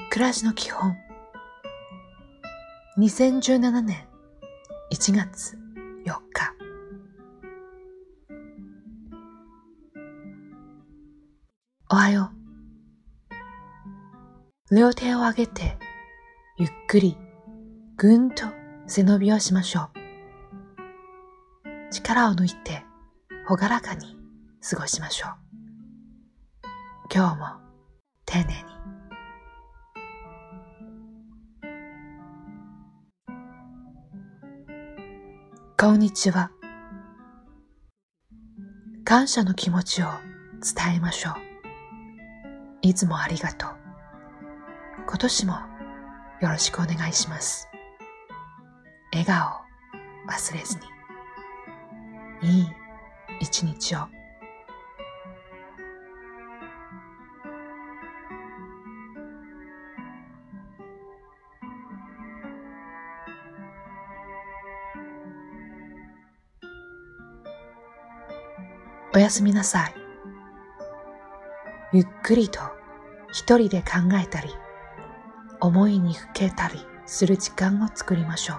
暮らしの基本。2017年1月4日。おはよう。両手を上げてゆっくりぐんと背伸びをしましょう。力を抜いてほがらかに過ごしましょう。今日も丁寧に。こんにちは。感謝の気持ちを伝えましょう。いつもありがとう。今年もよろしくお願いします。笑顔を忘れずに。いい一日を。おやすみなさい。ゆっくりと一人で考えたり、思いにふけたりする時間を作りましょう。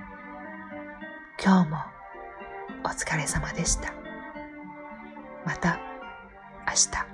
今日もお疲れ様でした。また明日。